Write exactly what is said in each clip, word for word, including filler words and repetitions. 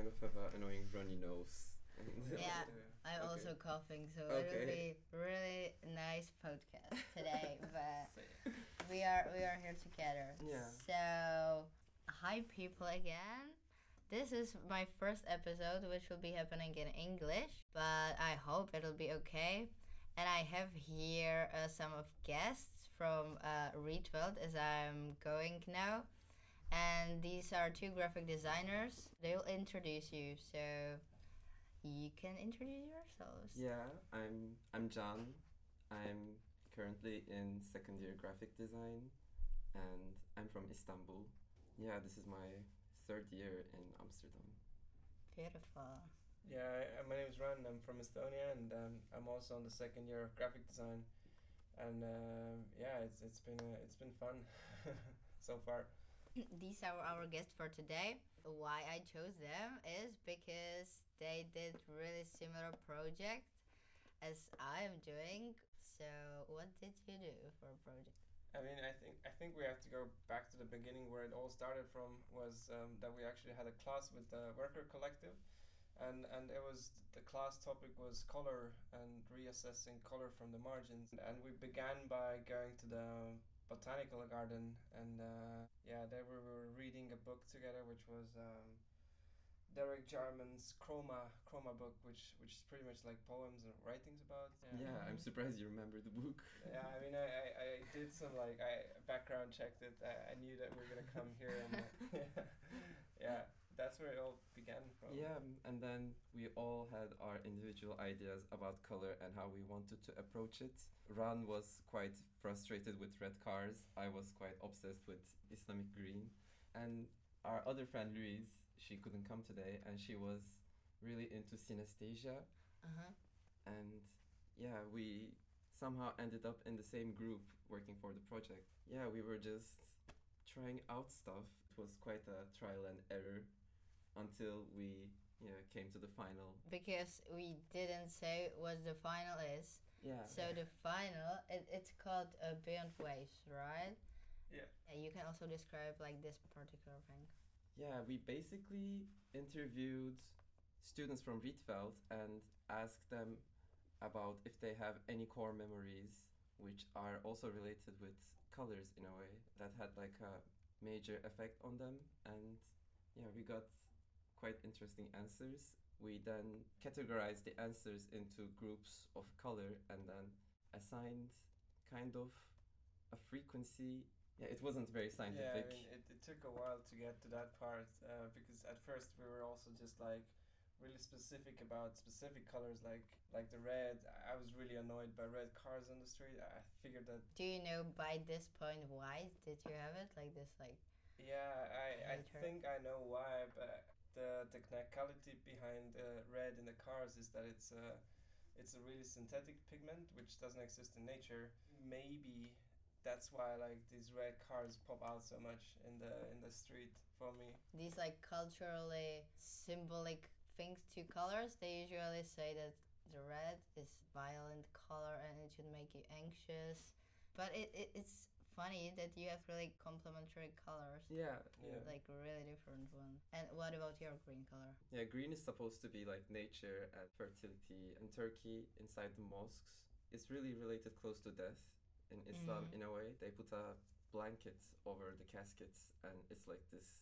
of have an annoying runny nose. Yeah, I'm Okay. also coughing, so Okay. it'll be really nice podcast today. But we are we are here together. Yeah. So hi people again. This is my first episode, which will be happening in English, but I hope it'll be okay. And I have here uh, some of guests from uh, Rietveld as I'm going now. And these are two graphic designers. They'll introduce you, so you can introduce yourselves. Yeah, I'm I'm John. I'm currently in second year graphic design, and I'm from Istanbul. Yeah, this is my third year in Amsterdam. Beautiful. Yeah, I- my name is Ran. I'm from Estonia, and um, I'm also on the second year of graphic design. And um yeah, it's it's been uh, it's been fun so far. These are our guests for today. Why I chose them is because they did really similar project as I am doing. So what did you do for a project? I mean, I think I think we have to go back to the beginning where it all started from. Was um, that we actually had a class with the Worker Collective, and and it was the class topic was color and reassessing color from the margins. And we began by going to the botanical garden, and uh, yeah, there we were reading a book together, which was um, Derek Jarman's Chroma Chroma book, which which is pretty much like poems and writings about. Yeah, I'm surprised you remember the book. Yeah, I mean, I, I, I did some like I background checked it. I, I knew that we were gonna come here, and uh, yeah, that's where it all began from. Yeah, um, and then we all had our individual ideas about color and how we wanted to approach it. Ran was quite frustrated with red cars. I was quite obsessed with Islamic green. And our other friend Louise, she couldn't come today, and she was really into synesthesia. Uh-huh. And yeah, we somehow ended up in the same group working for the project. Yeah, we were just trying out stuff. It was quite a trial and error until we yeah came to the final. Because we didn't say what the final is. Yeah. So the final, it, it's called uh, Beyond Waves, right? Yeah. And you can also describe like this particular thing. Yeah, we basically interviewed students from Rietveld and asked them about if they have any core memories which are also related with colors in a way that had like a major effect on them. And yeah, we got quite interesting answers. We then categorized the answers into groups of color and then assigned kind of a frequency. Yeah, it wasn't very Yeah, I scientific. mean, it, it took a while to get to that part uh, because at first we were also just like really specific about specific colors, like like the red. I was really annoyed by red cars on the street. I figured that Do you know by this point why did you have it like this? Like yeah, I, I Hater. think I know why, but the technicality behind uh, red in the cars is that it's a it's a really synthetic pigment which doesn't exist in nature. Maybe that's why like these red cars pop out so much in the in the street for me. these like culturally symbolic things to colors, they usually say that the red is violent color and it should make you anxious. But it, it it's funny that you have really complementary colors. Yeah, Yeah. Like really different one. And what about your green color? yeah, green is supposed to be like nature and fertility. In Turkey, inside the mosques, it's really related close to death. In Islam, Mhm. in a way, they put a blanket over the caskets, and it's like this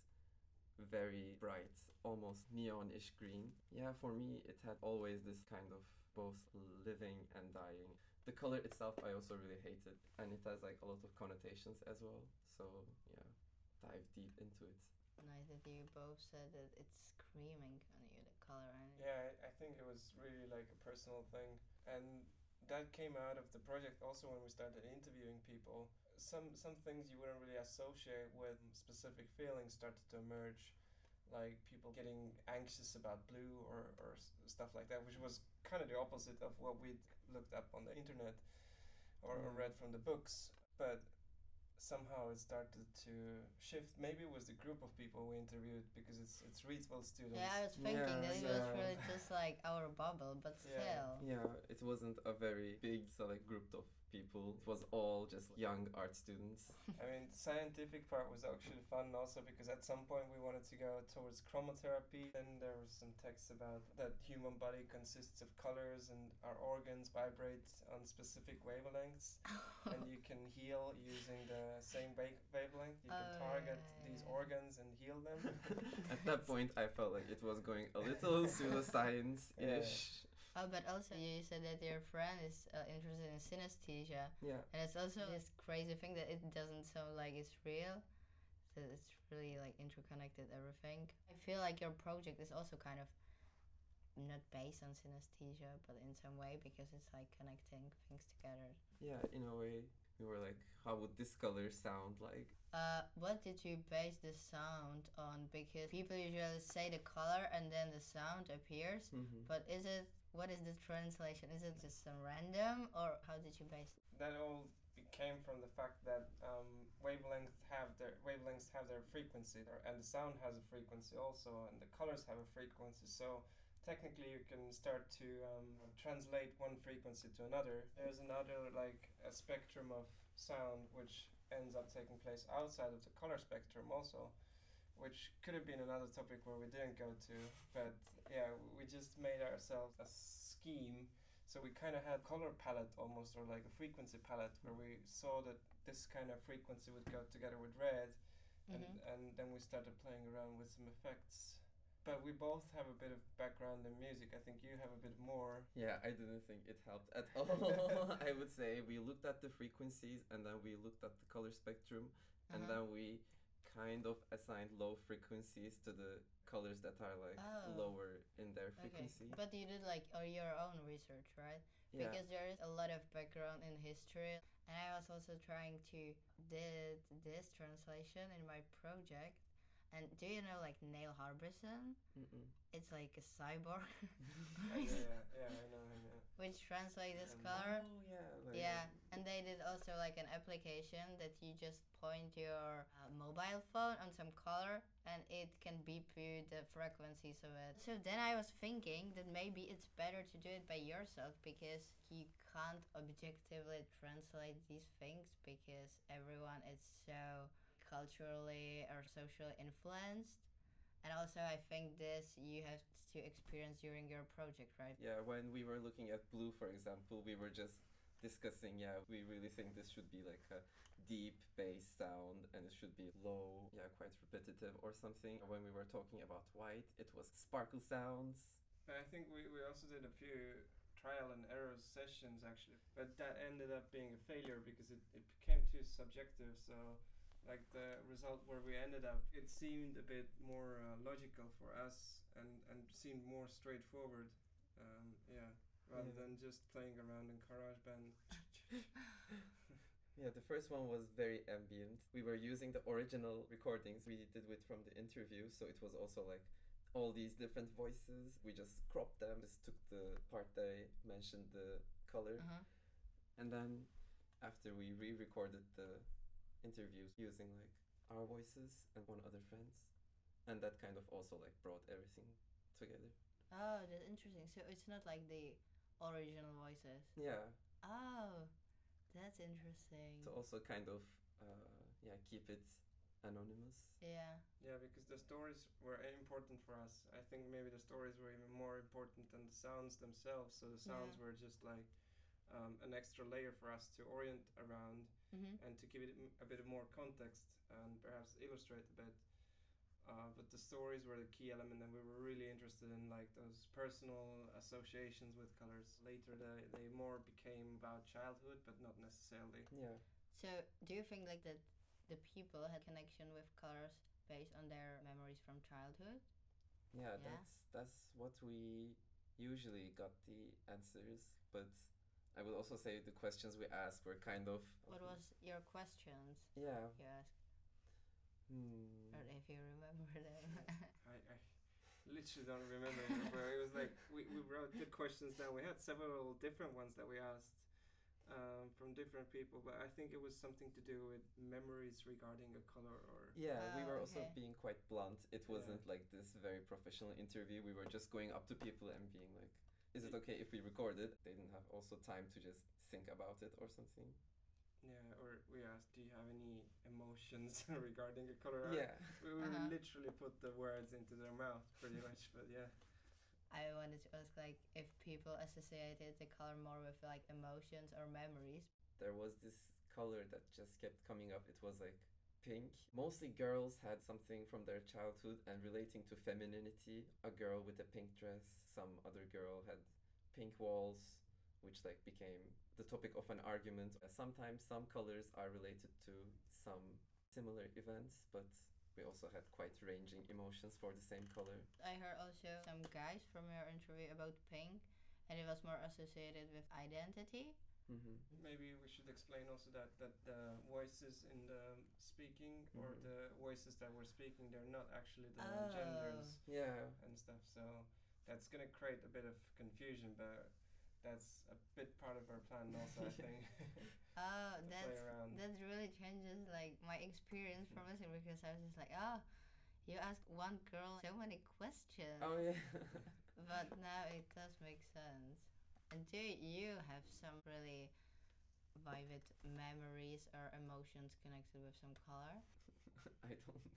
very bright, almost neonish green. Yeah, for me, it had always this kind of both living and dying. The color itself, I also really hated, and it has like a lot of connotations as well. So yeah, dive deep into it. Nice that you both said that it's screaming on you, the color. And Yeah, I, I think it was really like a personal thing, and that came out of the project also when we started interviewing people. Some some things you wouldn't really associate with specific feelings started to emerge, like people getting anxious about blue or, or s- stuff like that, which was kind of the opposite of what we'd looked up on the internet or, or Yeah. read from the books. But somehow it started to shift. Maybe it was the group of people we interviewed because it's it's Rietveld students. yeah, I was thinking Yeah, that it so- was really just like our bubble, but Yeah. still. Yeah, it wasn't a very big select group of people. It was all just young art students. I mean, the scientific part was actually fun also because at some point we wanted to go towards chromotherapy. Then there was some text about that human body consists of colors and our organs vibrate on specific wavelengths. And you can heal using the same wa- wavelength. You can Oh, target yeah, these yeah. organs and heal them. At that point, I felt like it was going a little pseudoscience-ish. Oh, but also you said that your friend is uh, interested in synesthesia, Yeah. and it's also this crazy thing that it doesn't sound like it's real. So it's really like interconnected everything. I feel like your project is also kind of not based on synesthesia, but in some way because it's like connecting things together. Yeah, in a way, we were like, how would this color sound like? Uh, what did you base the sound on? Because people usually say the color and then the sound appears. Mm-hmm. But is it, what is the translation? Is it just some random, or how did you base it? That all came from the fact that um, wavelengths have their wavelengths have their frequency, and the sound has a frequency also, and the colors have a frequency. So technically, you can start to um, translate one frequency to another. There's another like a spectrum of sound which ends up taking place outside of the color spectrum also, which could have been another topic where we didn't go to, but yeah, we just made ourselves a scheme. So we kind of had color palette almost, or like a frequency palette, where we saw that this kind of frequency would go together with red, and, Mhm. and then we started playing around with some effects. But we both have a bit of background in music. I think you have a bit more. Yeah, I didn't think it helped at all. I would say we looked at the frequencies and then we looked at the color spectrum and Uh-huh. then we kind of assigned low frequencies to the colors that are like Oh. lower in their Okay, frequency. but you did like or your own research, right? Yeah. Because there is a lot of background in history, and I was also trying to did this translation in my project. And do you know like Neil Harbisson? Mm-mm. It's like a cyborg, Yeah, yeah, yeah, I know, I know. which translates this Um, color. Oh yeah. Like, Yeah, and they did also like an application that you just point your uh, mobile phone on some color and it can beep you the frequencies of it. So then I was thinking that maybe it's better to do it by yourself because you can't objectively translate these things because everyone is so culturally or socially influenced. And also I think this you have to experience during your project, right? Yeah, when we were looking at Blue, for example, we were just discussing, yeah, we really think this should be like a deep bass sound and it should be low, yeah, quite repetitive or something. When we were talking about White, it was sparkle sounds. But I think we, we also did a few trial and error sessions actually, but that ended up being a failure because it, it became too subjective. So like the result where we ended up, it seemed a bit more uh, logical for us and, and seemed more straightforward. Um, yeah, rather Yeah. than just playing around in GarageBand. Yeah, the first one was very ambient. We were using the original recordings we did with from the interview, so it was also like all these different voices. We just cropped them, just took the part that I mentioned, the color, Uh-huh. and then after we re-recorded the interviews using like our voices and one other friends, and that kind of also like brought everything together. Oh, that's interesting. So it's not like the original voices. Yeah, Oh, that's interesting. to also kind of uh, yeah keep it anonymous. Yeah. Yeah, because the stories were important for us. I think maybe the stories were even more important than the sounds themselves. So the sounds Yeah. were just like um, an extra layer for us to orient around Mm-hmm. and to give it m- a bit of more context and perhaps illustrate a bit. Uh, but the stories were the key element, and we were really interested in like those personal associations with colors. Later, they, they more became about childhood, but not necessarily. Yeah. So do you think like that the people had connection with colors based on their memories from childhood? Yeah, Yeah. that's that's what we usually got the answers, but I would also say the questions we asked were kind of What was your questions yeah. you asked, Hmm. or if you remember them? I, I literally don't remember anymore, but it was like we, we wrote the questions down. We had several different ones that we asked um, from different people, but I think it was something to do with memories regarding a color or. Yeah, we Oh, were also okay. being quite blunt. It Yeah. wasn't like this very professional interview. We were just going up to people and being like, "Is it okay if we record it?" They didn't have also time to just think about it or something. Yeah, or we asked, do you have any emotions regarding a color? Yeah. We, we Uh-huh. literally put the words into their mouth, pretty much. But yeah. I wanted to ask like if people associated the color more with like emotions or memories. There was this color that just kept coming up. It was like pink. Mostly girls had something from their childhood and relating to femininity. A girl with a pink dress, some other girl had pink walls, which like became the topic of an argument. Uh, Sometimes some colors are related to some similar events, but we also had quite ranging emotions for the same color. I heard also some guys from your interview about pink, and it was more associated with identity. Mm-hmm. Maybe we should explain also that, that the voices in the speaking or Mhm. the voices that we're speaking, they're not actually the Oh. genders Yeah. and stuff. So that's going to create a bit of confusion, but that's a bit part of our plan also, I think. Oh, To play that's around. that really changes like my experience from listening because I was just like, oh, you asked one girl so many questions. Oh yeah. But now it does make sense. And do you have some really vivid memories or emotions connected with some color? I don't.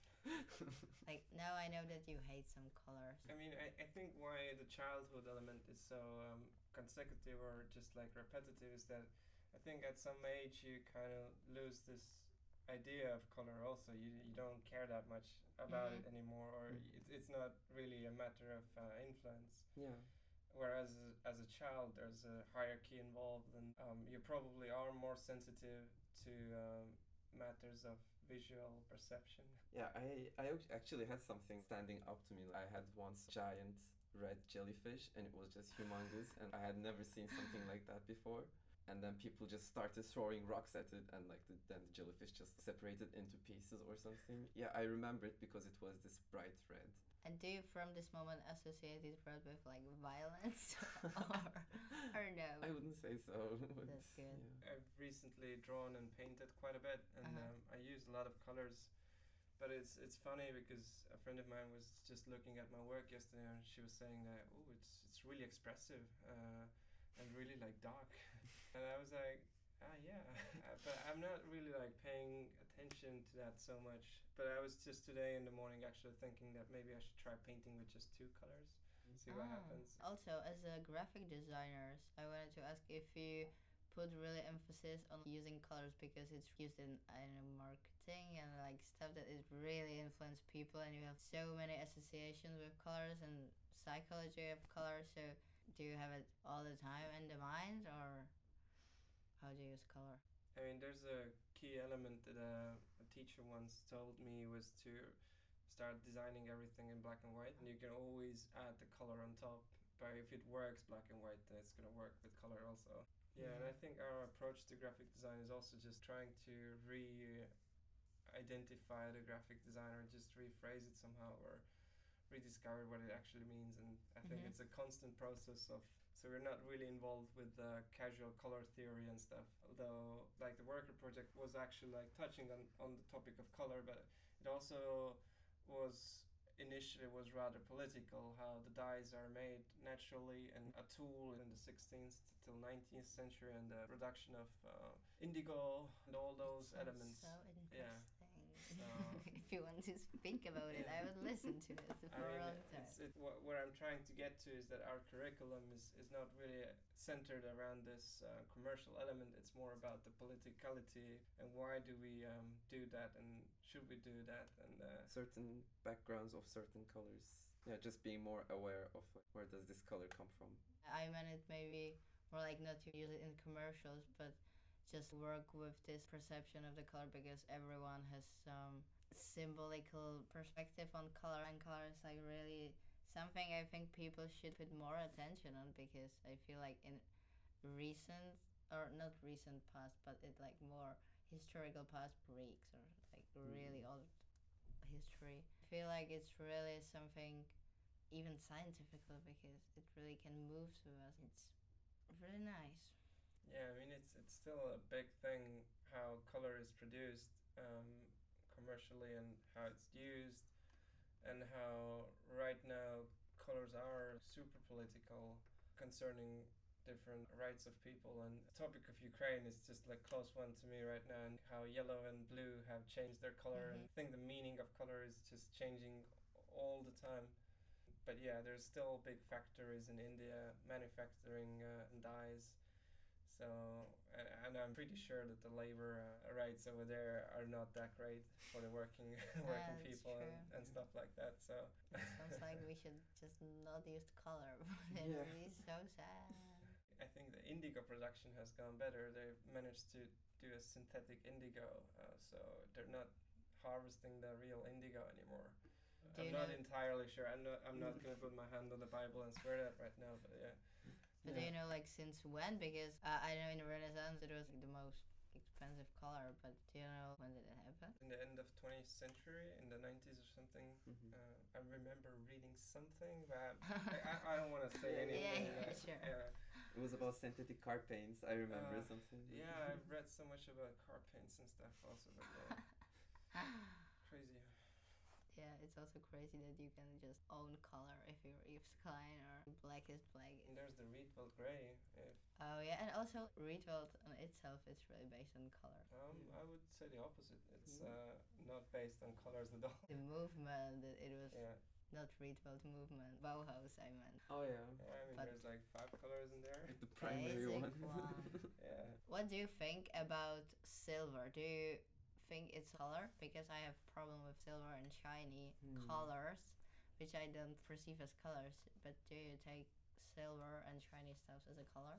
Like now I know that you hate some colors. I mean, I, I think why the childhood element is so um, consecutive or just like repetitive is that I think at some age you kind of lose this idea of color also. You, you don't care that much about Mhm. it anymore, or Mhm. it's, it's not really a matter of uh, influence. Yeah. Whereas as a child, there's a hierarchy involved, and um, you probably are more sensitive to um, matters of visual perception. Yeah, I, I ac- actually had something standing up to me. I had once giant red jellyfish and it was just humongous and I had never seen something like that before. And then people just started throwing rocks at it and like the, then the jellyfish just separated into pieces or something. Yeah, I remember it because it was this bright red. And do you from this moment associate it red with like violence or or no? I wouldn't say so. but That's good. Yeah. I've recently drawn and painted quite a bit, and Uh-huh. um, I use a lot of colors. But it's it's funny because a friend of mine was just looking at my work yesterday, and she was saying that oh, it's it's really expressive uh, and really like dark, and I was like, ah yeah, but I'm not really like paying attention to that so much. But I was just today in the morning actually thinking that maybe I should try painting with just two colors, see what Ah. happens. Also, as a graphic designers, I wanted to ask if you put really emphasis on using colors because it's used in, I don't know, marketing and like stuff that it really influence people, and you have so many associations with colors and psychology of colors. So, do you have it all the time in the mind, or how do you use color? I mean, there's a key element that a, a teacher once told me was to start designing everything in black and white, and you can always add the color on top. But if it works black and white, then it's gonna work with color also. Yeah, and I think our approach to graphic design is also just trying to re-identify the graphic designer, just rephrase it somehow, or rediscover what it actually means. And I think Mhm. it's a constant process of. So we're not really involved with uh, casual color theory and stuff. Although, like the worker project was actually like touching on on the topic of color, but it also was initially was rather political, how the dyes are made naturally and a tool in the sixteenth till nineteenth century, and the production of uh, indigo and all those It sounds elements. So Yeah. interesting. So- if you want to speak about it, I would listen to it for I a mean, long time. it's, it, what, where I'm trying to get to is that our curriculum is, is not really centered around this uh, commercial element. It's more about the politicality and why do we um, do that and should we do that and uh, Certain backgrounds of certain colors. Yeah, just being more aware of like, where does this color come from. I meant it maybe more like not to use it in commercials, but just work with this perception of the color because everyone has some symbolical perspective on color, and color is like really something I think people should put more attention on because I feel like in recent or not recent past, but it like more historical past breaks or like really old history. I feel like it's really something even scientifical because it really can move through us. It's really nice. yeah, I mean it's it's still a big thing how color is produced um, commercially and how it's used and how right now colors are super political concerning different rights of people, and the topic of Ukraine is just like close one to me right now, and how yellow and blue have changed their color, Mhm. and I think the meaning of color is just changing all the time. But yeah, there's still big factories in India manufacturing uh, dyes. So, and, and I'm pretty sure that the labor uh, rights over there are not that great for the working working That's people and, true. and stuff like that. So It sounds like we should just not use color. It Yeah. would be so sad. I think the indigo production has gone better. They've managed to do a synthetic indigo, uh, so they're not harvesting the real indigo anymore. Do I'm you not know- entirely sure. I'm not. I'm not gonna put my hand on the Bible and swear that right now. But yeah, But do you know like since when? Because uh, I know in the Renaissance it was like, the most expensive color, but do you know when did it happen? in the end of twentieth century, in the nineties or something. Mhm. Uh, I remember reading something, but I, I, I don't want to say Yeah, anything. yeah, uh, sure. Yeah, It was about synthetic car paints. I remember Uh, something. yeah. I've read so much about car paints and stuff also, but yeah, crazy. Yeah, it's also crazy that you can just own color if you're Yves Klein or black is black. And there's the Rietveld Grey. If, Oh yeah, and also Rietveld on itself is really based on color. um, Yeah. I would say the opposite. It's Mhm. uh, not based on colors at all. The movement, that it was Yeah. not Rietveld movement, Bauhaus I meant. Oh yeah. Yeah, I mean, But- there's like five colors in there. Like the primary Basic one. one. Yeah. What do you think about silver? Do you think it's color? Because I have problem with silver and shiny Hmm. colors, which I don't perceive as colors. But do you take silver and shiny stuff as a color?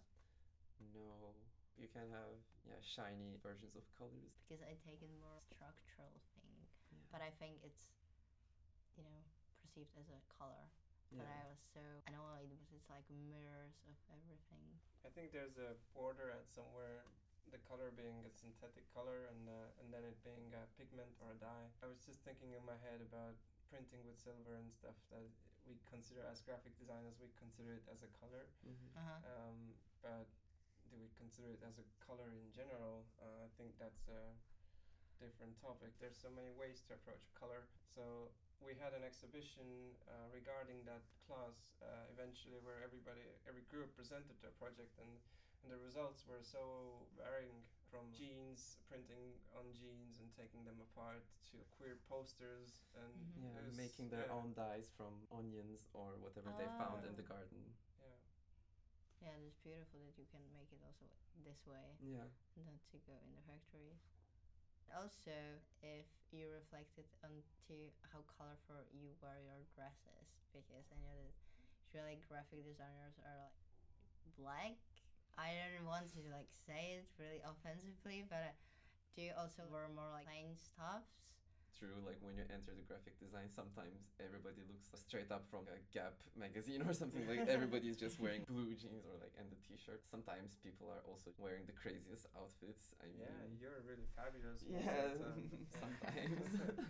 No. You can have yeah shiny versions of colors. Because I take it more structural thing. Yeah. But I think it's, you know, perceived as a color. But Yeah. I was so annoyed because it's like mirrors of everything. I think there's a border at somewhere, the color being a synthetic color and uh, and then it being a pigment or a dye. I was just thinking in my head about printing with silver and stuff that we consider as graphic designers, we consider it as a color. Mhm. Uh huh. Um, but do we consider it as a color in general? Uh, I think that's a different topic. There's so many ways to approach color. So we had an exhibition uh, regarding that class uh, eventually, where everybody, every group presented their project, and, and the results were so varying, from jeans, printing on jeans and taking them apart, to queer posters and Mhm. Yeah, it was- making their yeah, own dyes from onions or whatever they found in the Oh. garden. Yeah. Yeah, it's beautiful that you can make it also this way. Yeah. Not to go in the factories. Also, if you reflect it onto how colorful you wear your dresses, because I know that usually graphic designers are like black. I don't want to like say it really offensively, but uh, do you also wear more like plain stuffs? True, like when you enter the graphic design, sometimes everybody looks straight up from a Gap magazine or something. Like everybody's just wearing blue jeans or like and the t-shirt. Sometimes people are also wearing the craziest outfits. I mean, Yeah, you're really fabulous. most of Yeah, the time. Yeah. sometimes.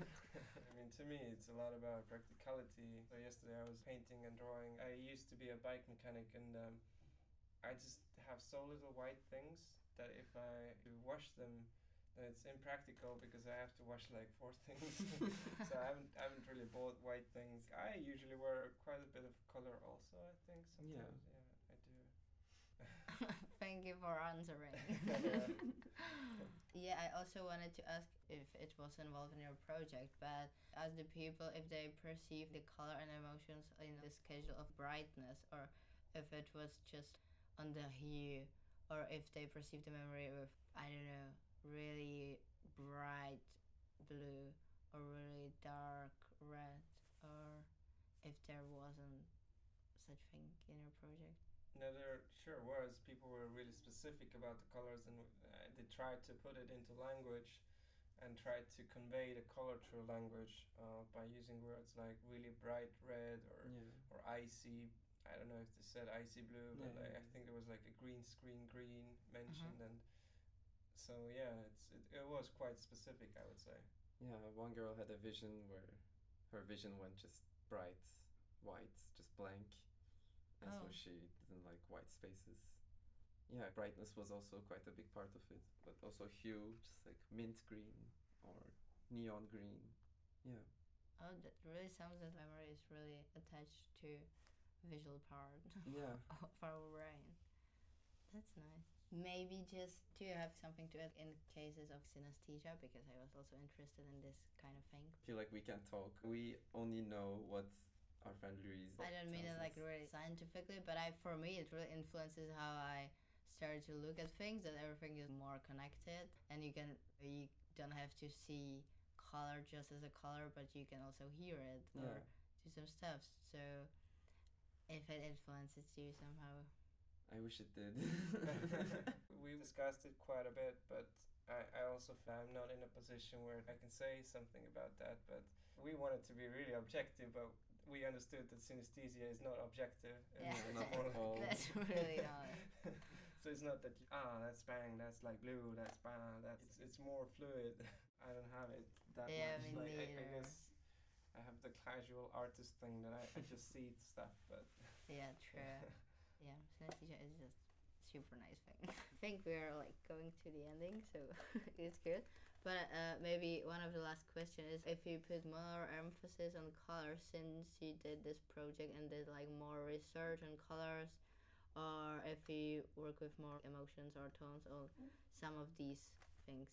I mean, to me, it's a lot about practicality. So yesterday I was painting and drawing. I used to be a bike mechanic, and um, I just have so little white things that if I wash them, then it's impractical because I have to wash like four things. So I haven't, I haven't really bought white things. I usually wear quite a bit of color also, I think, Yeah. sometimes. Yeah, I do. Thank you for answering. Yeah, I also wanted to ask if it was involved in your project, but as the people, if they perceive the color and emotions in the schedule of brightness, or if it was just on the hue, or if they perceive the memory with, I don't know, really bright blue or really dark red, or if there wasn't such thing in your project. No, there sure was. People were really specific about the colors, and uh, they tried to put it into language and tried to convey the color through language uh, by using words like really bright red or, Yeah. or icy. I don't know if they said icy blue, but Yeah, I, yeah, I yeah. think there was like a green screen green mentioned, and so yeah, it's it, it was quite specific, I would say. Yeah, one girl had a vision where her vision went just bright white, just blank. And so Oh. she didn't like white spaces. Yeah, brightness was also quite a big part of it, but also hue, just like mint green or neon green. Yeah. Oh, that really sounds that memory is really attached to visual part Yeah. of our brain. That's nice. Maybe just do you have something to add in cases of synesthesia? Because I was also interested in this kind of thing. I feel like we can't talk. We only know what our friend Louise I don't mean it tells like us. really scientifically, but I for me it really influences how I start to look at things. That everything is more connected, and you can you don't have to see color just as a color, but you can also hear it or Yeah. do some stuff. So if it influences you somehow. I wish it did. We discussed it quite a bit, but I, I also found I'm not in a position where I can say something about that. But we wanted to be really objective, but we understood that synesthesia is not objective. Yeah, It's not more at all. That's really not. So it's not that you, ah that's bang, that's like blue, that's bang, that's it's, it's more fluid. I don't have it that Yeah, much. me Like I, I neither. guess I have the casual artist thing that I, I just see stuff, but Yeah, true. Yeah, synesthesia is just super nice thing. I think we're like going to the ending, so it's good. But uh, maybe one of the last question is if you put more emphasis on colors since you did this project and did like more research on colors, or if you work with more emotions or tones or some of these things.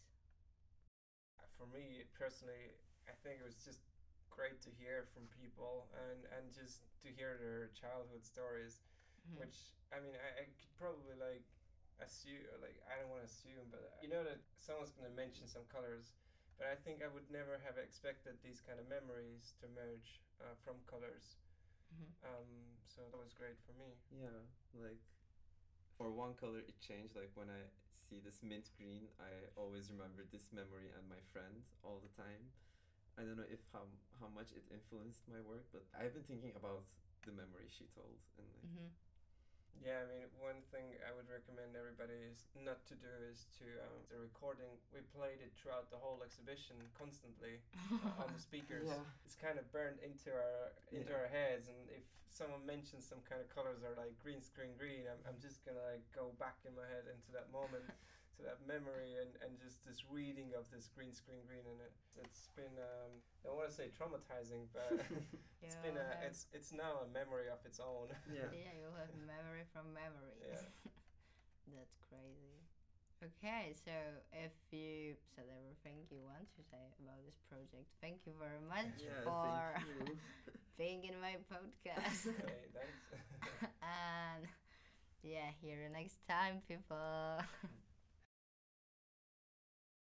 for me personally, I think it was just great to hear from people and, and just to hear their childhood stories, Mhm. which I mean I, I could probably like assume like I don't want to assume, but you know that someone's gonna mention some colors, but I think I would never have expected these kind of memories to emerge uh, from colors. Mhm. Um, so that was great for me. Yeah, like for one color it changed. Like when I see this mint green, I always remember this memory and my friend all the time. I don't know if how how much it influenced my work, but I've been thinking about the memory she told and like Mhm. Yeah, I mean, one thing I would recommend everybody is not to do is to um, the recording. We played it throughout the whole exhibition constantly uh, on the speakers. Yeah. It's kind of burned into our into Yeah. our heads, and if someone mentions some kind of colors or like green screen green, I'm I'm just gonna like go back in my head into that moment, to that memory, and, and just this reading of this green screen green in it. It's been um, I don't want to say traumatizing, but it's Yeah, been a have- it's it's now a memory of its own. Yeah. Yeah, you'll have memory from memory. Yeah. That's crazy. Okay, so if you said everything you want to say about this project, thank you very much Yeah, for thank you. being in my podcast. Okay, thanks. And yeah, hear you next time, people.